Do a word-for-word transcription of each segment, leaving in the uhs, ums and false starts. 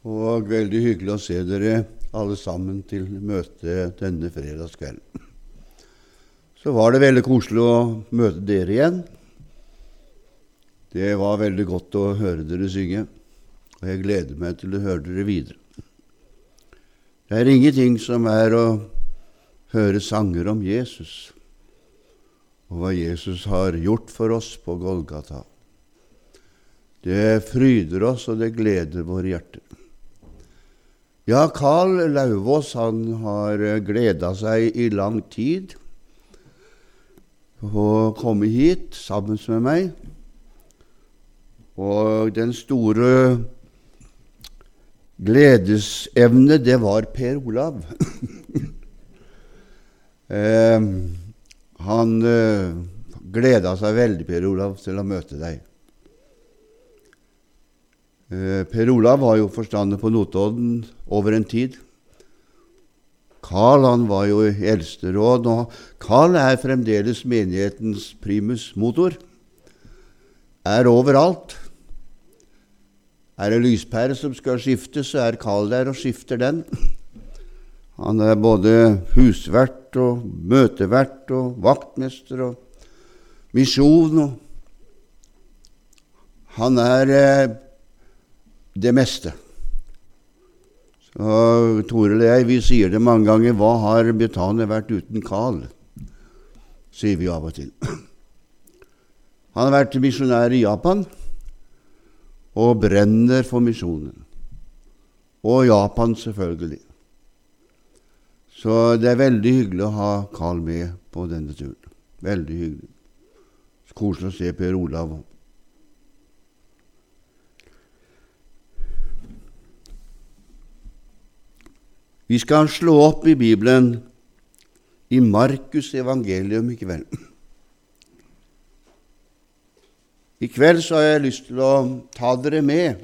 Og veldig hyggelig å se dere alle sammen til møte denne fredagskvelden. Så var det veldig koselig å møte dere igjen. Det var veldig godt å høre dere synge, og jeg gleder meg til å høre dere videre. Det er ingenting som er å høre sanger om Jesus, og hva Jesus har gjort for oss på Golgata. Det fryder oss, og det gleder våre hjerter. Ja, Karl Lauvås, han har gledet seg i lang tid å komme hit sammen med meg. Og den store gledesevne, det var Per Olav. eh, han eh, gledet seg veldig, Per Olav, til å møte deg. Per Olav var jo forstander på Notodden over en tid. Karl, han var jo i eldsteråd, og Karl er fremdeles menighetens primus motor. Er overalt. Er det lyspære som skal skiftes, så er Karl der og skifter den. Han er både husvert og møtevert og vaktmester og misjon. Og han er eh, det meste. Så Toril og jeg, vi sier det mange ganger, hva har Betania vært uten Karl? Sier vi av og til. Han har vært misjonær i Japan, og brenner for misjonen. Og Japan selvfølgelig. Så det er veldig hyggelig å ha Karl med på denne turen. Veldig hyggelig. Så koselig å se Per Olav. Vi skal slå opp i Bibelen i Markus evangelium i kveld. I kveld så har jeg lyst til å ta dere med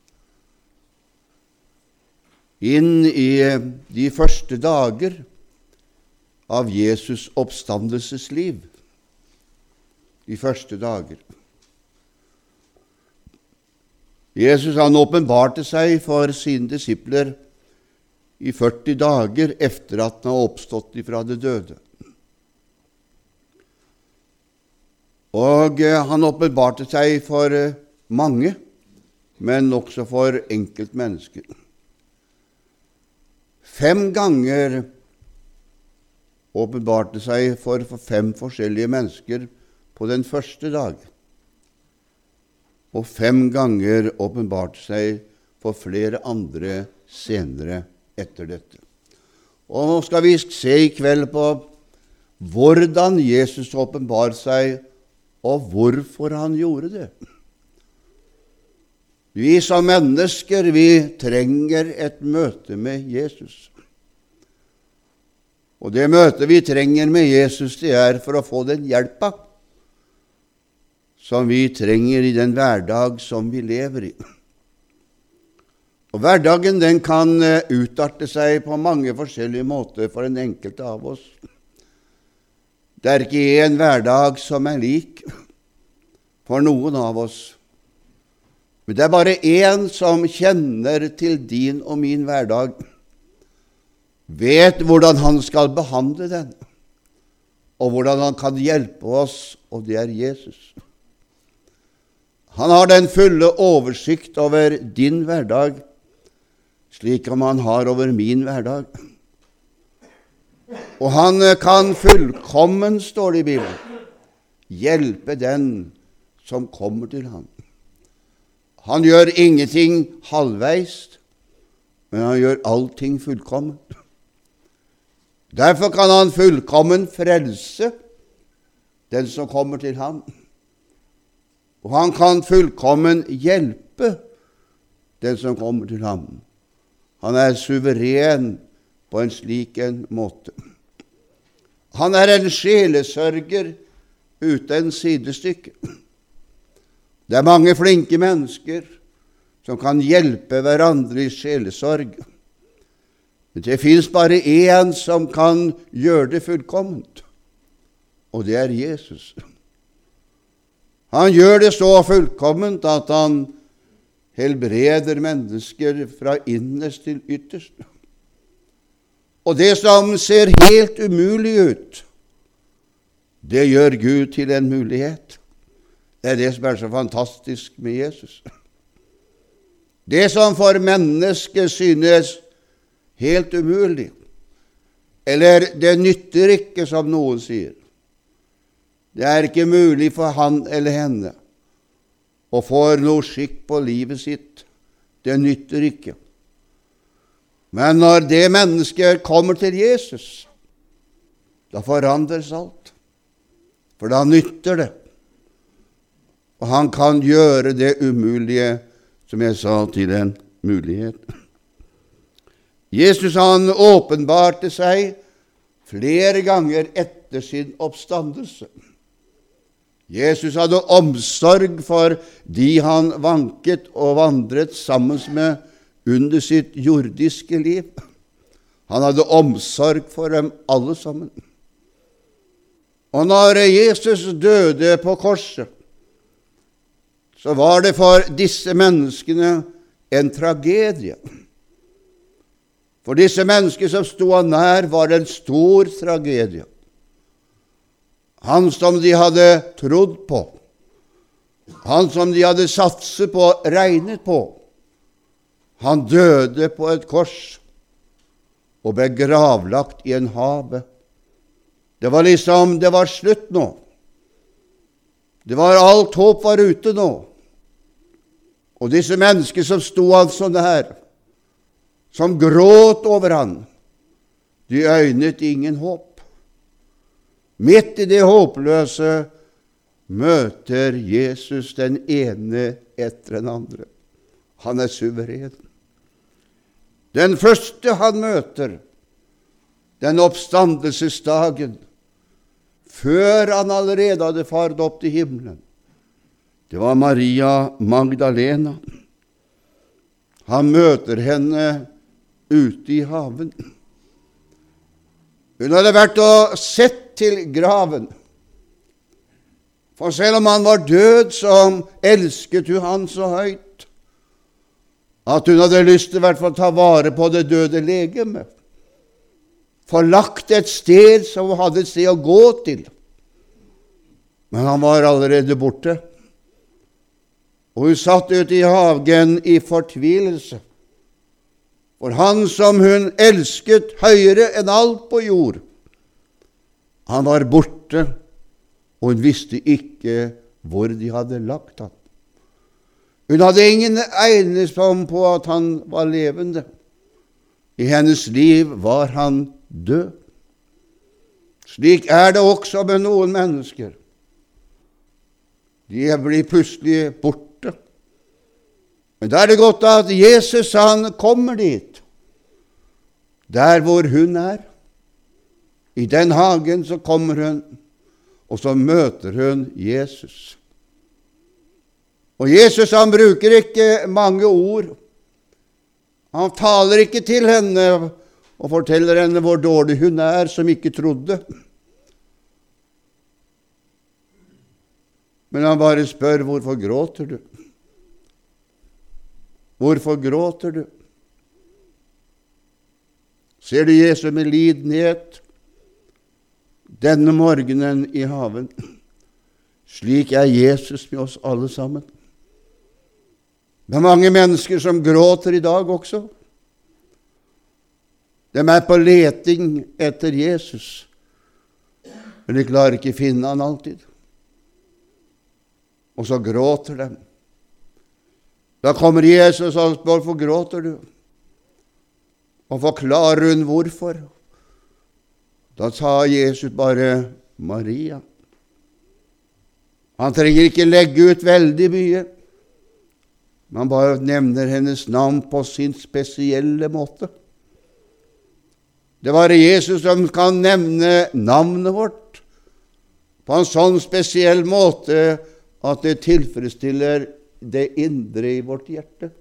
inn i de første dager av Jesus oppstandelsesliv. De første dager. Jesus, han åpenbarte seg for sine disipler i førti dager efter at han har oppstått ifra det døde. Og han åpenbarte seg for mange, men også for enkeltmennesker. Fem ganger åpenbarte seg for, for fem forskjellige mennesker på den første dag. Og fem ganger åpenbarte seg for flere andre senere etter dette. Og nå skal vi se i kveld på hvordan Jesus åpenbar seg, og hvorfor han gjorde det. Vi som mennesker, vi trenger et møte med Jesus. Og det møtet vi trenger med Jesus, det er for å få den hjelpa som vi trenger i den hverdag som vi lever i. Og hverdagen, den kan utarte seg på mange forskjellige måter for en enkelte av oss. Det er ikke en hverdag som er lik for noen av oss. Men det er bare en som kjenner til din og min hverdag, vet hvordan han skal behandle den, og hvordan han kan hjelpe oss, og det er Jesus. Han har den fulle oversikt over din hverdag, slik som han har over min hverdag. Og han kan fullkommen, står det i Bibelen, hjelpe den som kommer til ham. Han gjør ingenting halvveis, men han gjør allting fullkomment. Derfor kan han fullkommen frelse den som kommer til ham. Og han kan fullkommen hjelpe den som kommer til ham. Han er suveren på en slik en måte. Han er en sjelesørger uten sidestykke. Det er mange flinke mennesker som kan hjelpe hverandre i sjelesorg. Men det finnes bare en som kan gjøre det fullkomment, og det er Jesus. Han gjør det så fullkomment at han helbreder mennesker fra innerst til ytterst. Og det som ser helt umulig ut, det gjør Gud til en mulighet. Det er det som er så fantastisk med Jesus. Det som for mennesket synes helt umulig, eller det nytter ikke, som noen sier. Det er ikke mulig for han eller henne å få noe skikk på livet sitt. Det nytter ikke. Men når det mennesket kommer til Jesus, da forandres alt. For da nytter det. Og han kan gjøre det umulige, som jeg sa, til en mulighet. Jesus han åpenbarte seg flere ganger etter sin oppstandelse. Jesus hadde omsorg for de han vanket og vandret sammen med under sitt jordiske liv. Han hadde omsorg for dem alle sammen. Og når Jesus døde på korset, så var det for disse menneskene en tragedie. For disse mennesker som stod han nær, var det en stor tragedie. Han som de hadde trodd på, han som de hadde satset på, regnet på, han døde på et kors og ble gravlagt i en have. Det var liksom, det var slutt nå. Det var alt håp var ute nå. Og disse mennesker som stod han sånn her, som gråt over han, de øynet ingen håp. Midt i det håpløse møter Jesus den ene etter den andre. Han er suveren. Den første han møter, den oppstandelsesdagen, før han allerede hadde faret opp til himmelen, det var Maria Magdalena. Han møter henne ute i haven. Hun hadde vært og sett til graven. For selv om han var død, så elsket hun han så høyt, at hun hadde lyst til i hvert fall ta vare på det døde legeme. Forlagt et sted som hun hadde et sted å gå til. Men han var allerede borte. Og hun satt ute i hagen i fortvilelse. For han som hun elsket høyere enn alt på jord, han var borte, og hun visste ikke hvor de hadde lagt ham. Hun hadde ingen egenskap på at han var levende. I hennes liv var han død. Slik er det også med noen mennesker. De blir plutselig borte. Men da er det godt at Jesus han kommer dit, der hvor hun er. I den hagen så kommer hun, og så møter hun Jesus. Og Jesus han bruker ikke mange ord. Han taler ikke til henne og forteller henne hvor dårlig hun er som ikke trodde. Men han bare spør, hvorfor gråter du? Hvorfor gråter du? Ser du Jesus med lidenhet denne morgenen i haven? Slik er Jesus med oss alle sammen. Det er mange mennesker som gråter i dag også. De er på leting etter Jesus, men de klarer ikke finne han alltid. Og så gråter de. Da kommer Jesus og spør, hvorfor gråter du? Og forklarer hun hvorfor. Da sa Jesus bare Maria. Han trenger ikke legge ut veldig mye. Man bare nevner hennes navn på sin spesielle måte. Det var Jesus som kan nevne navnet vårt på en sånn spesiell måte at det tilfredsstiller det indre i vårt hjerte.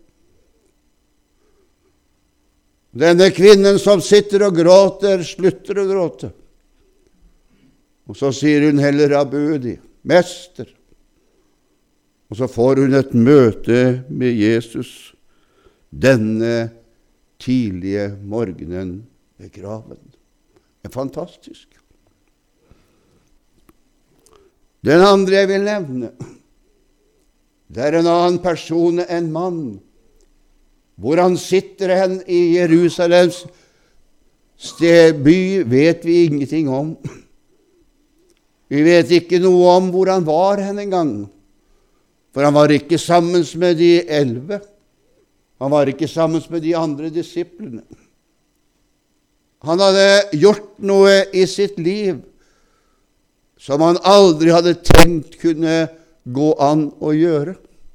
Denne kvinnen som sitter og gråter, slutter å gråte. Og så sier hun heller Rabudi, mester. Og så får hun et møte med Jesus denne tidlige morgenen ved graven. Det er fantastisk. Den andre jeg vil nevne, det er en annen person, en mann. Hvor han sitter hen i Jerusalems stedby, vet vi ingenting om. Vi vet ikke noe om hvor han var hen en gang. For han var ikke sammen med de elleve. Han var ikke sammen med de andre disiplene. Han hadde gjort noe i sitt liv som han aldri hadde tenkt kunne gå an å gjøre.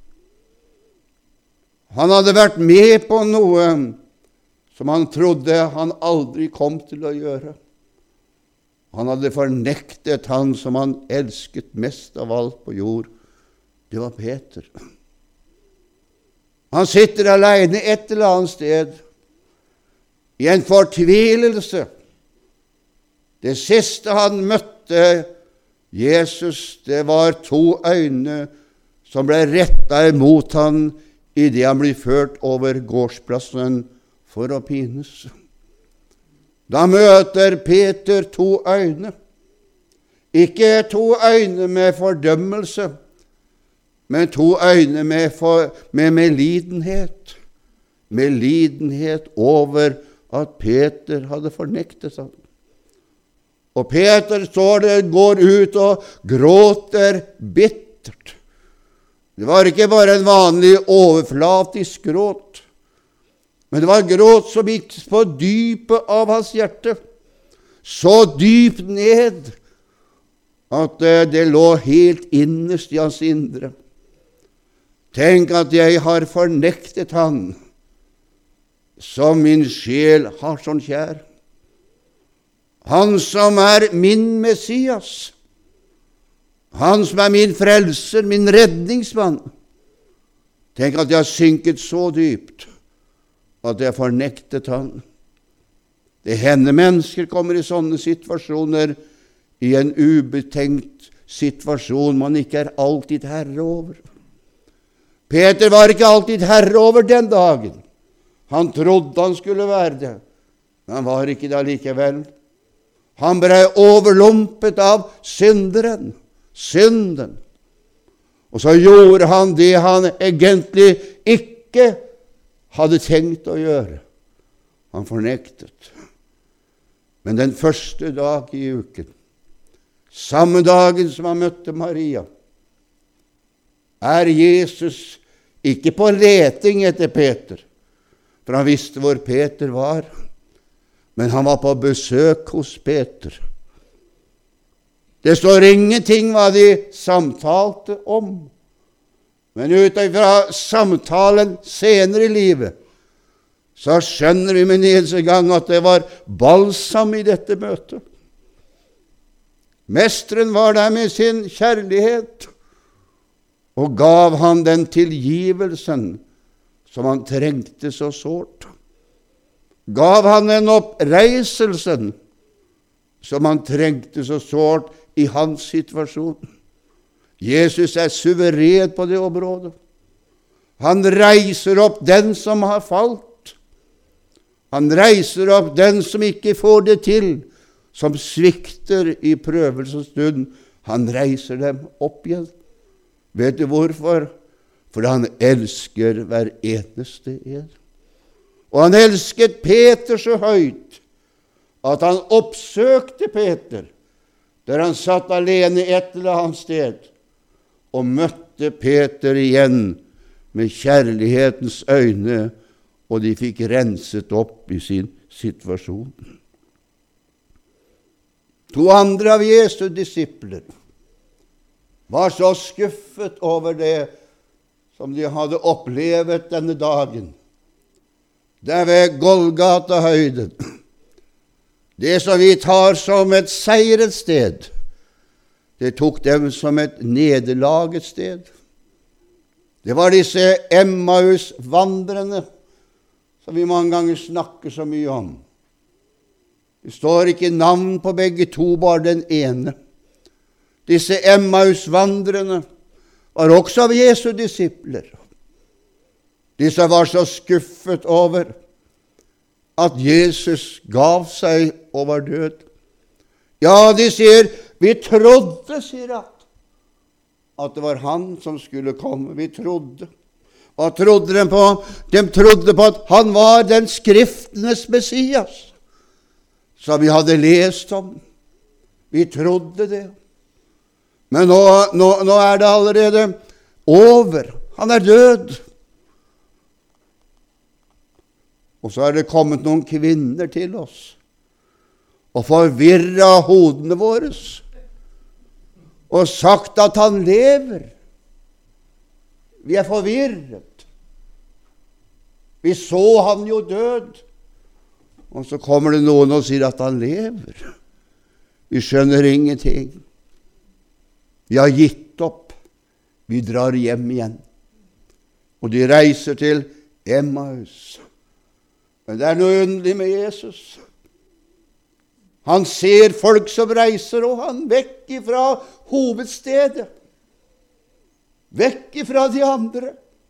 Han hadde vært med på noe som han trodde han aldri kom til å gjøre. Han hadde fornektet han som han elsket mest av alt på jord. Det var Peter. Han sitter alene et eller annet sted, i en fortvilelse. Det siste han møtte Jesus, det var to øyne som ble rettet imot han i det han ble ført over gårdsplassen for å pines. Da møter Peter to øyne. Ikke to øyne med fordømmelse, men to øyne med, for, med medlidenhet. Medlidenhet over at Peter hadde fornektet ham. Og Peter står der, går ut og gråter bittert. Det var ikke bare en vanlig overflatisk gråt, men det var gråt som gikk på dypet av hans hjerte. Så dypt ned at det lå helt innerst i hans indre. Tenk at jeg har fornektet han som min sjel har sånn kjær. Han som er min Messias. Han som er min frelser, min redningsmann. Tenk at jeg har synket så dypt at jeg har fornektet han. Det hender mennesker kommer i sånne situasjoner, i en ubetenkt situasjon man ikke er alltid herre over. Peter var ikke alltid herre over den dagen. Han trodde han skulle være det, men han var ikke det likevel. Han ble overlumpet av synderen, synden. Og så gjorde han det han egentlig ikke hadde tenkt å gjøre. Han fornektet. Men den første dag i uken, samme dagen som han møtte Maria, er Jesus ikke på leting etter Peter, for han visste hvor Peter var, men han var på besøk hos Peter. Det står ingenting hva de samtalte om, men ut fra samtalen senere i livet, så skjønner vi med eneste gang at det var balsam i dette møtet. Mesteren var der med sin kjærlighet, og gav han den tilgivelsen som han trengte så sårt. Gav han den oppreiselsen som han trengte så sårt i hans situasjon. Jesus er suveren på det området. Han reiser opp den som har falt. Han reiser opp den som ikke får det til, som svikter i prøvelsens stund. Han reiser dem opp igjen. Vet du hvorfor? Fordi han elsker hver eneste en. Og han elsket Peter så høyt at han oppsøkte Peter, der han satt alene et eller annet sted, og møtte Peter igjen med kjærlighetens øyne, og de fikk renset opp i sin situasjon. To andre av Jesu disipler var så skuffet over det som de hadde opplevet denne dagen. Der ved Golgata-høyden, det som vi tar som et seirets sted, det tok dem som et nederlagets sted. Det var disse Emmaus-vandrene som vi mange ganger snakker så mye om. Det står ikke navn på begge to, bare den ene. Disse Emmaus-vandrene var også av Jesu disipler. Disse var så skuffet over at Jesus gav seg og var død. Ja, de sier, vi trodde, sier at, at det var han som skulle komme. Vi trodde. Hva trodde de på? De trodde på at han var den skriftenes Messias, som vi hadde lest om. Vi trodde det. Men nå, nå, nå er det allerede over. Han er død. Og så er det kommet noen kvinner til oss og forvirret hodene våre og sagt at han lever. Vi er forvirret. Vi så han jo død. Og så kommer det noen og sier at han lever. Vi skjønner ingenting. Vi har gitt opp. Vi drar hjem igjen. Og de reiser til Emmaus. Men det er noe underlig med Jesus. Han ser folk som reiser, og han vekk ifra hovedstedet. Vekk ifra de andre.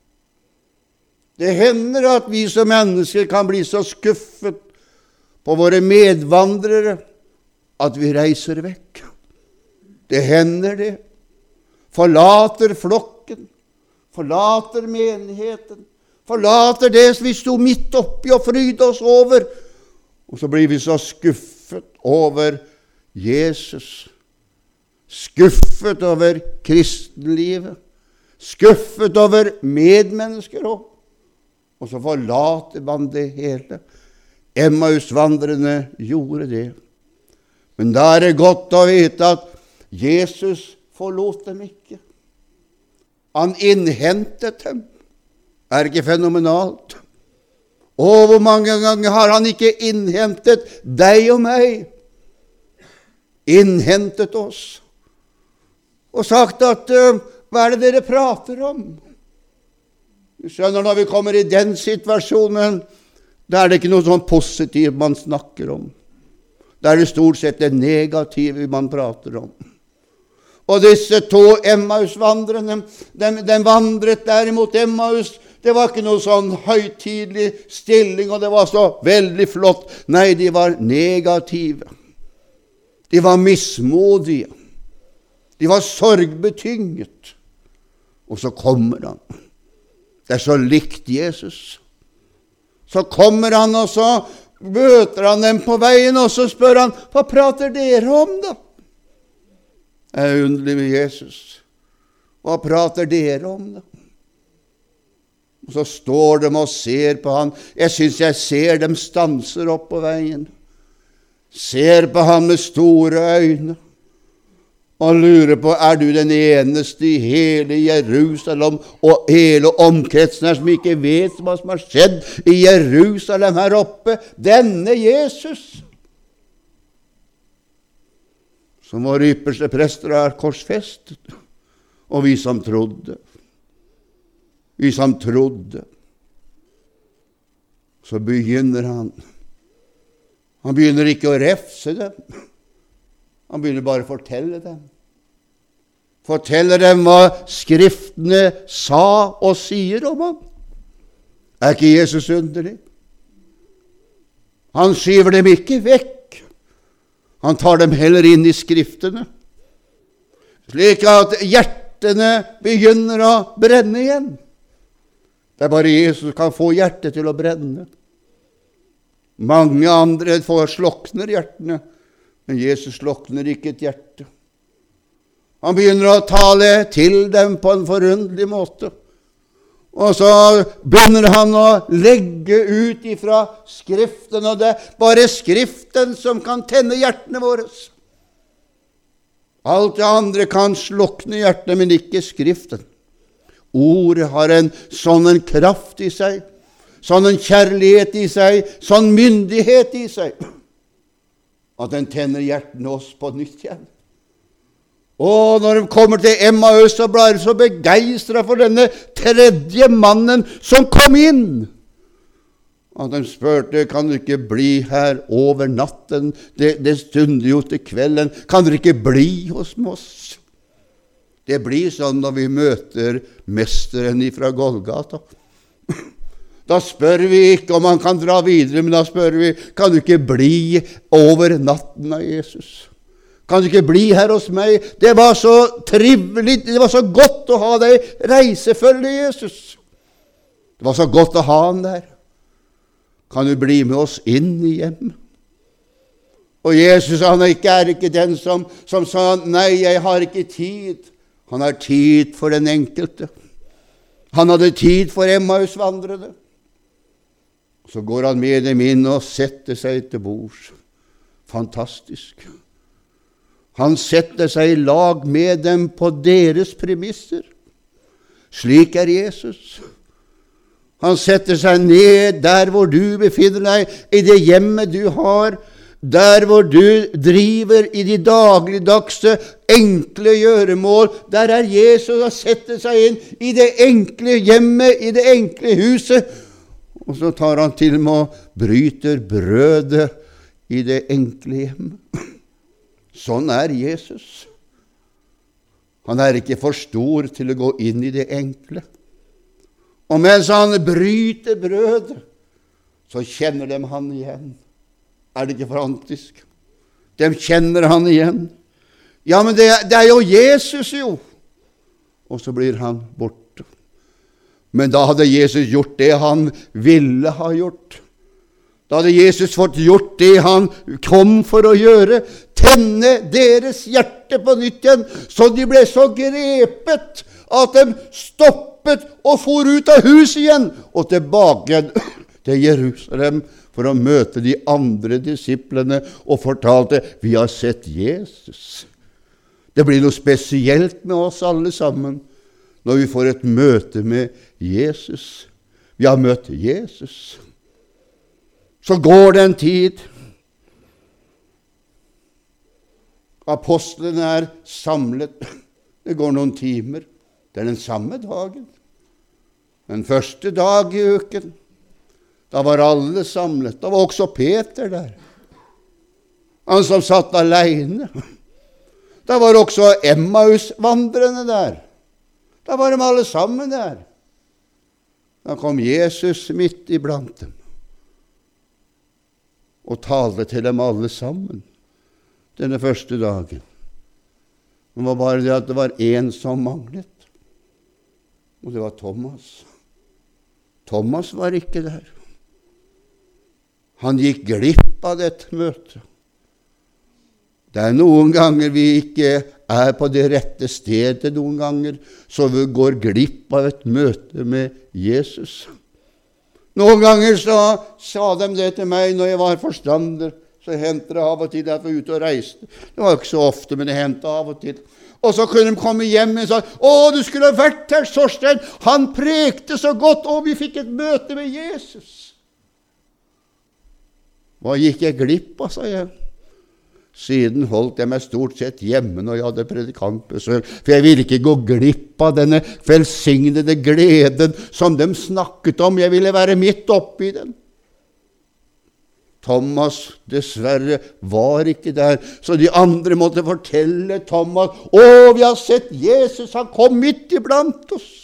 Det hender at vi som mennesker kan bli så skuffet på våre medvandrere at vi reiser vekk. Det hender det. Forlater flokken, forlater menigheten, forlater det vi sto midt oppi og fryde oss over. Og så blir vi så skuffet over Jesus. Skuffet over kristenlivet. Skuffet over medmennesker også. Og så forlater man det hele. Emmausvandrerne gjorde det. Men da er det godt å vite at Jesus forlot dem ikke. Han innhentet dem. Er ikke fenomenalt? Og hvor mange ganger har han ikke innhentet deg og meg? Innhentet oss. Og sagt at, uh, hva er det dere prater om? Du skjønner, når vi kommer i den situasjonen, da er det ikke noe sånn positivt man snakker om. Da er det stort sett det negative man prater om. Og disse to Emmaus-vandrene, de, de vandret derimot Emmaus. Det var ikke noe sånn høytidelig stilling, og det var så veldig flott. Nei, de var negative. De var mismodige. De var sorgbetynget. Og så kommer han. Det er så likt Jesus. Så kommer han, og så møter han dem på veien, og så spør han, hva prater dere om da? Det er underlig med Jesus. Hva prater dere om da? Og så står de og ser på han. Jeg synes jeg ser dem stanser opp på veien. Ser på han med store øyne. Og lurer på, er du den eneste i hele Jerusalem og hele omkretsen her som ikke vet hva som har skjedd i Jerusalem her oppe? Denne Jesus, som våre ypperste prester har korsfestet, og vi som trodde. Vi som trodde. Så begynner han. Han begynner ikke å refse dem. Han begynner bare å fortelle dem. Fortelle dem hva Skriftene sa og sier om ham. Er ikke Jesus underlig? Han skyver dem ikke vekk. Han tar dem heller inn i Skriftene, slik at hjertene begynner å brenne igjen. Det er bare Jesus som kan få hjertet til å brenne. Mange andre får slokner hjertene, men Jesus slokner ikke et hjerte. Han begynner å tale til dem på en forunderlig måte. Og så begynner han å legge ut ifra Skriften, og det er bare Skriften som kan tenne hjertene våre. Alt det andre kan slukne hjertene, men ikke Skriften. Ordet har en sånn en kraft i seg, sånn en kjærlighet i seg, sånn myndighet i seg, at den tenner hjertene oss på nytt igjen. Og når de kommer til Emmaus, så ble de så begeistret for denne tredje mannen som kom inn. Og de spurte, kan du ikke bli her over natten? Det, det stunder jo til kvelden. Kan du ikke bli hos oss? Det blir sånn når vi møter mesteren fra Golgata. Da spør vi ikke om han kan dra videre, men da spør vi, kan du ikke bli over natten av Jesus? Kan du ikke bli her hos meg? Det var så trivelig, det var så godt å ha deg reisefølge, Jesus. Det var så godt å ha han der. Kan du bli med oss inn i hjem? Og Jesus, han er ikke, er ikke den som, som sa, nei, jeg har ikke tid. Han har tid for den enkelte. Han hadde tid for Emmaus-vandrerne. Så går han med dem inn og setter seg til bords. Fantastisk. Han setter seg i lag med dem på deres premisser. Slik er Jesus. Han setter seg ned der hvor du befinner deg, i det hjemmet du har, der hvor du driver i de dagligdagse, enkle gjøremål. Der er Jesus og setter seg inn i det enkle hjemmet, i det enkle huset. Og så tar han til med å bryter brødet i det enkle hjemmet. Sånn er Jesus. Han er ikke for stor til å gå inn i det enkle. Og mens han bryter brødet, så kjenner de han igjen. Er det ikke fantastisk? De kjenner han igjen. Ja, men det, det er jo Jesus jo. Og så blir han borte. Men da hadde Jesus gjort det han ville ha gjort. Da hadde Jesus fått gjort det han kom for å gjøre, tenne deres hjerte på nytt igjen, så de ble så grepet at de stoppet og for ut av huset igjen, og tilbake til Jerusalem for å møte de andre disiplene, og fortalte, vi har sett Jesus. Det blir noe spesielt med oss alle sammen, når vi får et møte med Jesus. Vi har møtt Jesus. Så går det en tid. Apostlene er samlet. Det går noen timer. Det er den samme dagen. Den første dag i uken. Da var alle samlet. Da var også Peter der. Han som satt alene. Da var også Emmaus-vandrene der. Da var de alle sammen der. Da kom Jesus midt iblant dem og talte til dem alle sammen denne første dagen. Det var bare det at det var en som manglet, og det var Thomas. Thomas var ikke der. Han gikk glipp av dette møtet. Det er noen ganger vi ikke er på det rette stedet noen ganger, så vi går glipp av et møte med Jesus. Noen ganger så sa de det til meg når jeg var forstander, så hendte det av og til at jeg var ute og reiste. Det var ikke så ofte, men det hendte av og til. Og så kunne de komme hjem og si, å, du skulle ha vært her, Sorstein, han prekte så godt, og vi fikk et møte med Jesus. Hva gikk jeg glipp av, sa jeg. Siden holdt jeg meg stort sett hjemme når jeg hadde predikantbesøk, for jeg ville ikke gå glipp av denne velsignede gleden som de snakket om. Jeg ville være midt oppe i den. Thomas dessverre var ikke der, så de andre måtte fortelle Thomas, å, vi har sett Jesus, han kom midt iblant oss.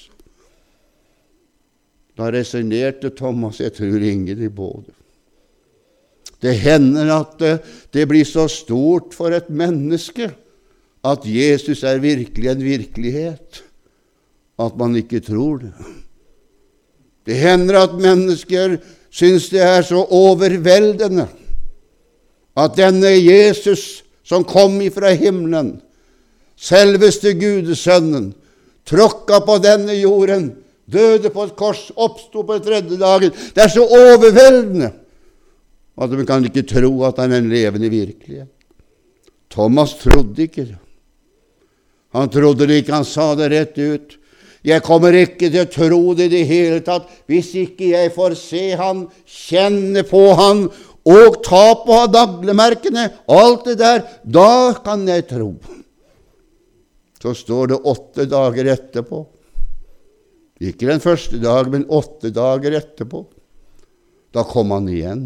Da resonerte Thomas, jeg tror ingen i både. Det hender at det, det blir så stort for et menneske at Jesus er virkelig en virkelighet, at man ikke tror det. Det hender at mennesker synes det er så overveldende at denne Jesus som kom ifra himmelen, selveste Gudesønnen, tråkka på denne jorden, døde på et kors, oppstod på tredje dagen. Det er så overveldende at de kan ikke tro at han er en levende virkelighet. Thomas trodde ikke det. Han trodde det ikke, han sa det rett ut. Jeg kommer ikke til å tro det i det hele tatt, hvis ikke jeg får se han, kjenne på han, og ta på naglemerkene, alt det der, da kan jeg tro. Så står det åtte dager etterpå. Ikke den første dag, men åtte dager etterpå. Da kom han igjen.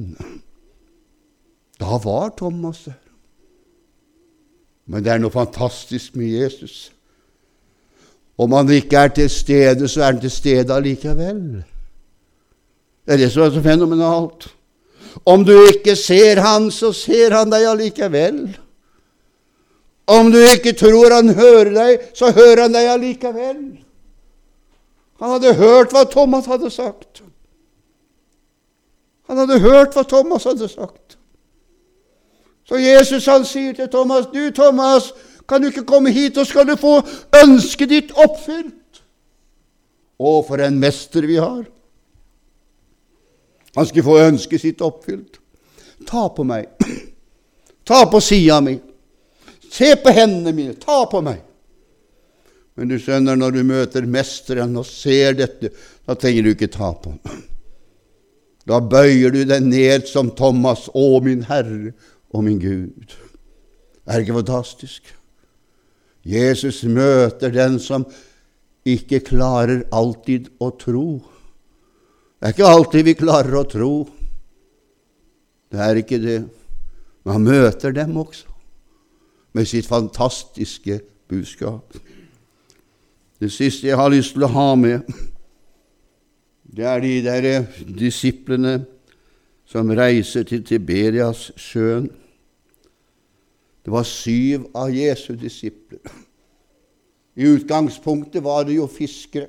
Da var Thomas der. Men det er noe fantastisk med Jesus. Om han ikke er til stede, så er han til stede allikevel. Det er det som er så fenomenalt. Om du ikke ser han, så ser han deg allikevel. Om du ikke tror han hører deg, så hører han deg allikevel. Han hadde hørt hva Thomas hadde sagt. Han hadde hørt hva Thomas hadde sagt. Så Jesus han sier til Thomas, du Thomas, kan du ikke komme hit, og skal du få ønsket ditt oppfylt? Å, for en mester vi har. Han skal få ønsket sitt oppfylt. Ta på meg. Ta på siden min. Se på hendene mine. Ta på meg. Men du skjønner, når du møter mesteren og ser dette, da trenger du ikke ta på ham. Da bøyer du deg ned som Thomas, å min Herre og min Gud. Er det ikke fantastisk? Jesus møter den som ikke klarer alltid å tro. Det er ikke alltid vi klarer å tro. Det er ikke det. Men han møter dem også med sitt fantastiske budskap. Det siste jeg har lyst til å ha med, det er de der disiplene som reiser til Tiberias sjøen. Det var syv av Jesu disipler. I utgangspunktet var det jo fiskere.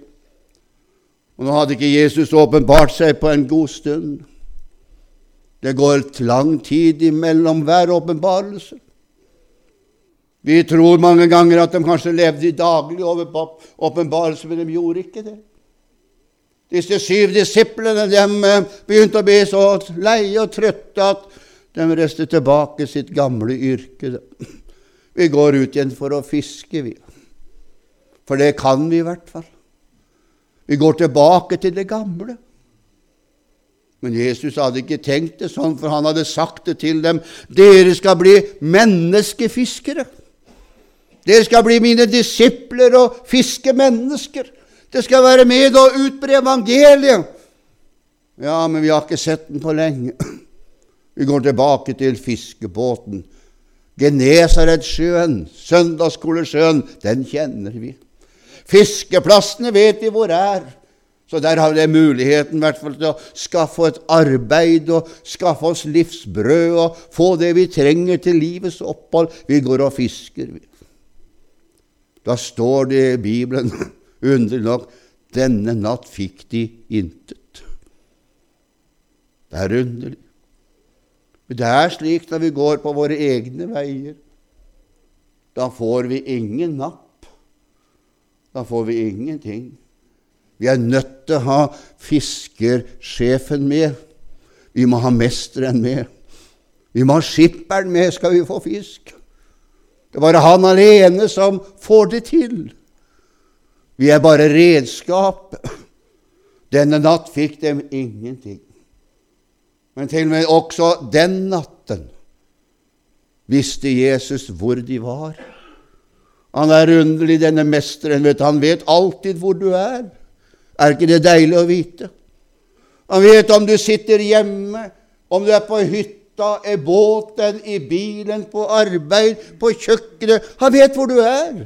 Og nå hadde ikke Jesus åpenbart seg på en god stund. Det går et lang tid imellom hver åpenbarelse. Vi tror mange ganger at de kanskje levde i daglig åpenbarelse, men de gjorde ikke det. Disse syv disiplene, de begynte å bli så leie og trøtte at de reiste tilbake sitt gamle yrke. Vi går ut igjen for å fiske, vi. For det kan vi i hvert fall. Vi går tilbake til det gamle. Men Jesus hadde ikke tenkt det sånn, for han hadde sagt det til dem. Dere skal bli menneskefiskere. Dere skal bli mine disipler og fiske mennesker. Det skal være med og utbre evangeliet. Ja, men vi har ikke sett den på lenge. Vi går tilbake til fiskebåten. Genesaretsjøen, søndagsskolesjøen, den kjenner vi. Fiskeplassene vet vi hvor er. Så der har vi muligheten i hvert fall til å skaffe et arbeid og skaffe oss livsbrød og få det vi trenger til livets opphold. Vi går og fisker. Da står det i Bibelen, underlig nok, denne natt fikk de intet. Det er underlig. Men det er slik når vi går på våre egne veier. Da får vi ingen napp. Da får vi ingenting. Vi er nødt til å ha fiskersjefen med. Vi må ha mesteren med. Vi må ha skipperen med, skal vi få fisk. Det var han alene som får det til. Vi er bare redskap. Denne natt fikk de ingenting. Men til og med også den natten visste Jesus hvor de var. Han er underlig, denne mesteren. Vet, han vet alltid hvor du er. Er ikke det deilig å vite? Han vet om du sitter hjemme, om du er på hytta, i båten, i bilen, på arbeid, på kjøkkenet. Han vet hvor du er.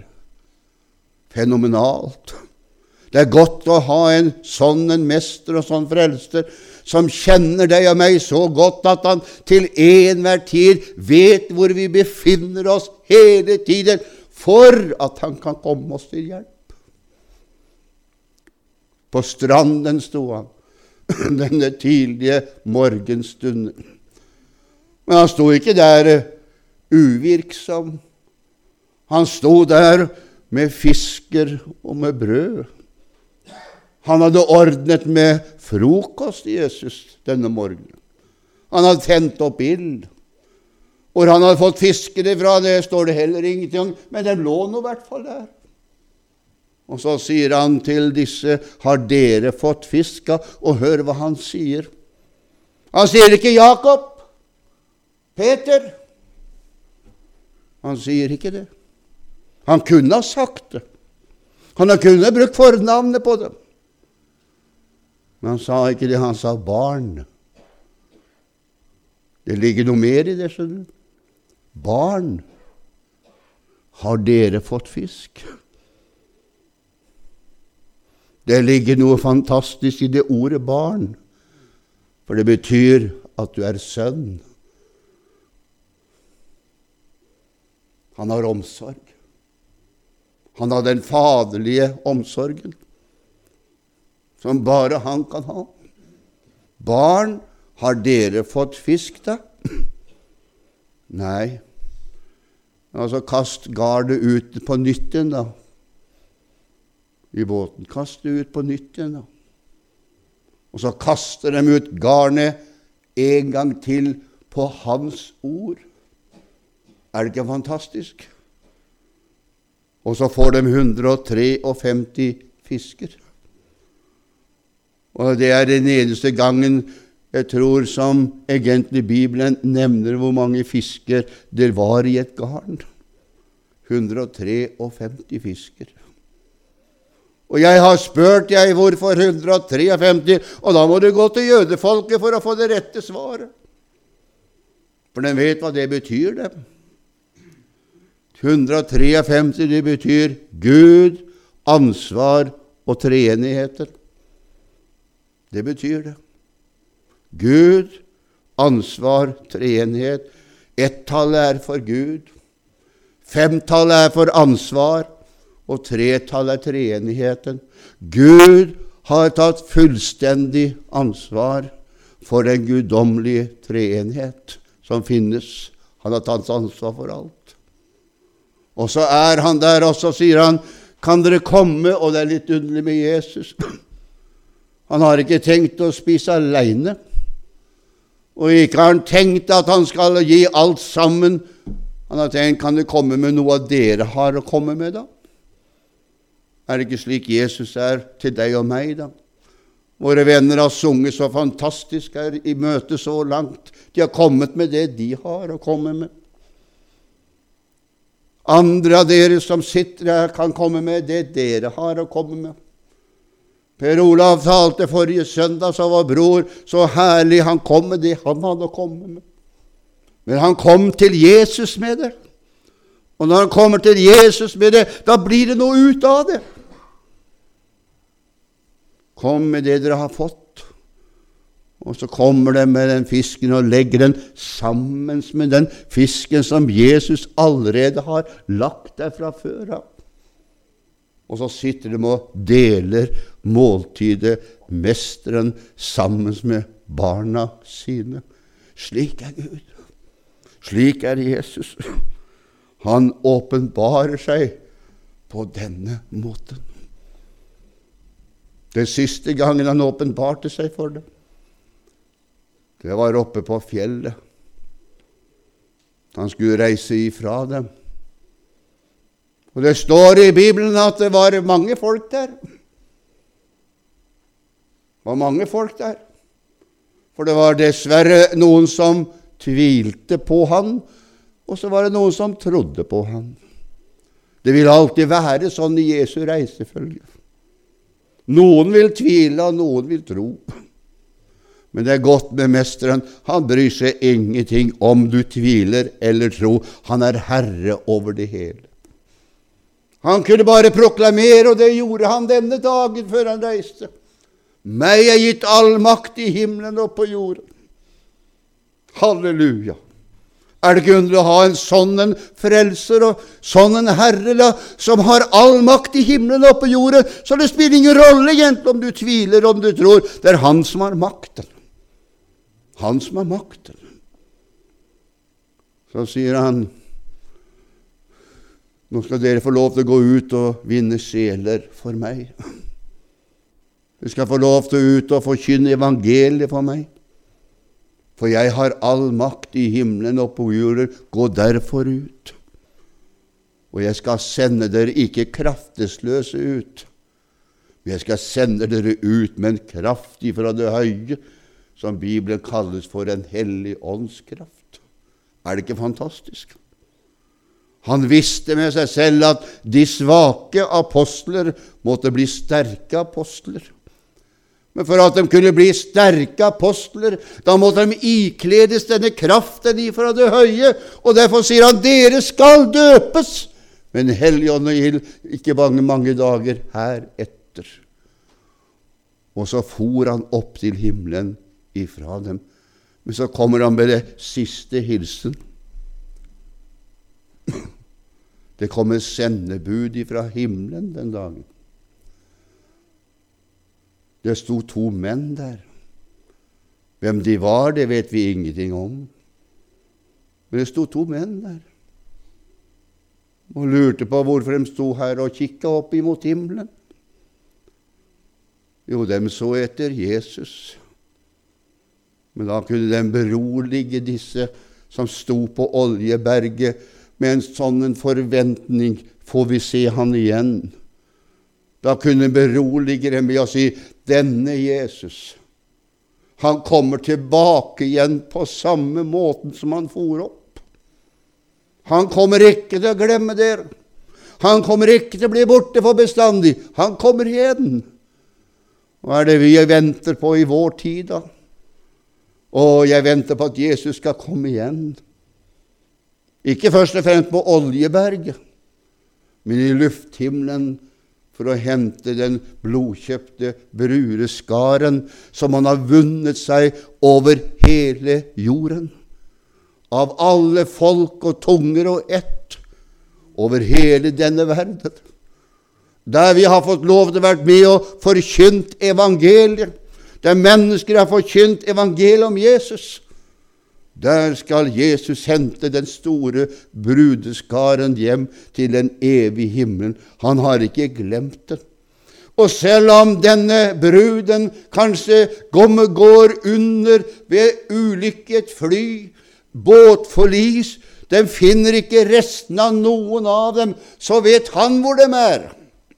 Fenomenalt. Det er godt å ha en sånn en mester og sånn frelser som kjenner deg og meg så godt at han til enhver tid vet hvor vi befinner oss hele tiden for at han kan komme oss til hjelp. På stranden sto han denne tidlige morgenstunden. Men han sto ikke der uvirksom. Han sto der med fisker og med brød. Han hadde ordnet med frokost, Jesus, denne morgenen. Han hadde tent opp ild. Hvor han hadde fått fiskene fra, det står det heller ingenting om, men de lå nå i hvert fall der. Og så sier han til disse, har dere fått fiska? Og hør hva han sier. Han sier ikke Jakob, Peter. Han sier ikke det. Han kunne ha sagt det. Han kunne brukt fornavnet på dem. Men han sa ikke det, han sa barn. Det ligger noe mer i det, skjønner du. Barn, har dere fått fisk? Det ligger noe fantastisk i det ordet barn, for det betyr at du er sønn. Han har omsorg. Han har den faderlige omsorgen, som bare han kan ha. Barn, har dere fått fisk da? Nei. Altså, kast gardet ut på nytt igjen da. I båten. Kast det ut på nytt igjen da. Og så kaster de ut garnet en gang til på hans ord. Er det ikke fantastisk? Og så får de hundre og femtitre fisker. Og det er den eneste gangen jeg tror som egentlig Bibelen nevner hvor mange fisker det var i et garn. hundre og femtitre fisker. Og jeg har spurt jeg hvorfor hundre og femtitre, og da må du gå til jødefolket for å få det rette svaret. For de vet hva det betyr, dem. hundre og femtitre, det betyr Gud, ansvar og treenigheter. Det betyr det. Gud, ansvar, treenighet. Ett-tallet er for Gud. Femtallet er for ansvar, og tretallet er treenigheten. Gud har tatt fullstendig ansvar for den guddommelige treenighet som finnes. Han har tatt ansvar for alt. Og så er han der, og så sier han, kan dere komme? Og det er litt underlig med Jesus. Han har ikke tenkt å spise alene. Og ikke har han tenkt at han skal gi alt sammen. Han har tenkt, kan det komme med noe av dere har å komme med da? Er det ikke slik Jesus er til deg og meg da? Våre venner har sunget så fantastisk her i møte så langt. De har kommet med det de har å komme med. Andre av dere som sitter her kan komme med det dere har å komme med. Per Olav talte forrige søndag, så var bror så herlig, han kom med det han hadde å komme med. Men han kom til Jesus med det. Og når han kommer til Jesus med det, da blir det noe ut av det. Kom med det dere har fått. Og så kommer de med den fisken og legger den sammen med den fisken som Jesus allerede har lagt der fra før av. Og så sitter de og deler måltidet, mesteren, sammen med barna sine. Slik er Gud. Slik er Jesus. Han åpenbarer seg på denne måten. Det siste gangen han åpenbarte seg for dem, det var oppe på fjellet. Han skulle reise ifra dem. Og det står i Bibelen at det var mange folk der. Det var mange folk der. For det var dessverre noen som tvilte på han, og så var det noen som trodde på han. Det vil alltid være sånn i Jesu reisefølge. Noen vil tvile, og noen vil tro. Men det er godt med mesteren. Han bryr seg ingenting om du tviler eller tror. Han er herre over det hele. Han kunne bare proklamere, og det gjorde han denne dagen før han reiste. Meg er gitt all makt i himmelen og på jorden. Halleluja. Er det ikke underlig å ha en sånn en frelser og sånn en herre da, som har all makt i himmelen og på jorden, så det spiller ingen rolle egentlig om du tviler, om du tror. Det er han som har makten. Han som har makten. Så sier han, nå skal dere få lov til å gå ut og vinne sjeler for meg. Du skal få lov til å ut og forkynne evangeliet for meg. For jeg har all makt i himmelen og på jorden, gå derfor ut. Og jeg skal sende dere ikke kraftesløse ut, men jeg skal sende dere ut med en kraft ifra det høye, som Bibelen kalles for en hellig åndskraft. Er det ikke fantastisk? Han visste med seg selv at de svake apostler måtte bli sterke apostler. Men for at de kunne bli sterke apostler, da måtte de ikledes denne kraften ifra det høye, og derfor sier han, dere skal døpes, men Helligånd og ild ikke mange, mange dager her etter. Og så for han opp til himmelen ifra dem. Men så kommer han med det siste hilsen. Det kommer sendebud ifra himmelen den dagen. Det sto to menn der. Hvem de var, det vet vi ingenting om. Men det sto to menn der. Og lurte på hvorfor de sto her og kikket opp imot himmelen. Jo, de så etter Jesus. Men da kunne de berolige disse som sto på Oljeberget med en sånn en forventning, får vi se han igjen. Da kunne de berolige dem ved å si, denne Jesus, han kommer tilbake igjen på samme måten som han for opp. Han kommer ikke til å glemme dere. Han kommer ikke til å bli borte for bestandig. Han kommer igjen. Hva er det vi venter på i vår tid da? Og jeg venter på at Jesus skal komme igjen. Ikke først og fremst på Oljeberget, men i lufthimmelen for å hente den blodkjøpte brudeskaren som han har vunnet seg over hele jorden. Av alle folk og tunger og ett over hele denne verden. Der vi har fått lov til å være med og forkynt evangeliet. Der mennesker har forkynt evangeliet om Jesus. Der skal Jesus hente den store brudeskaren hjem til den evige himmelen. Han har ikke glemt det. Og selv om denne bruden kanskje går under ved ulykke i et fly, båtforlis, den finner ikke resten av noen av dem, så vet han hvor de er.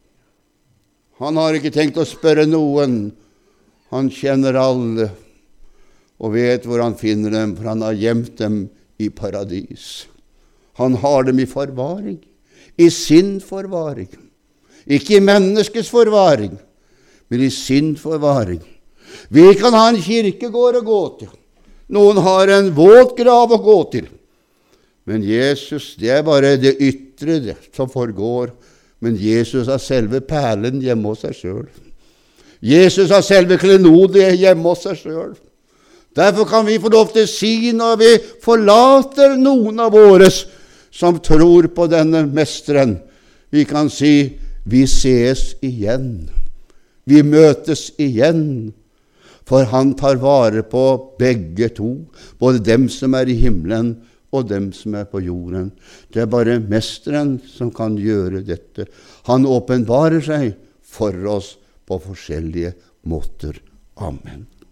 Han har ikke tenkt å spørre noen. Han kjenner alle og vet hvor han finner dem, for han har gjemt dem i paradis. Han har dem i forvaring, i sin forvaring. Ikke i menneskets forvaring, men i sin forvaring. Vi kan ha en kirkegård å gå til. Noen har en våt grav å gå til. Men Jesus, det er bare det ytre det, som forgår. Men Jesus har selve perlen hjemme hos seg selv. Jesus har selve klenodiet hjemme hos seg selv. Derfor kan vi få lov til å si når vi forlater noen av våres som tror på denne mesteren. Vi kan si, vi ses igjen. Vi møtes igjen. For han tar vare på begge to, både dem som er i himmelen og dem som er på jorden. Det er bare mesteren som kan gjøre dette. Han åpenbarer seg for oss på forskjellige måter. Amen.